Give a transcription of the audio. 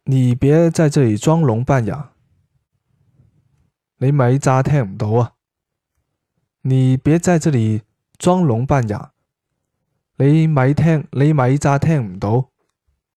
你別在這裡裝聾扮啞，你咪詐聽唔到啊！你別在這裡裝聾扮啞，你咪詐聽唔到。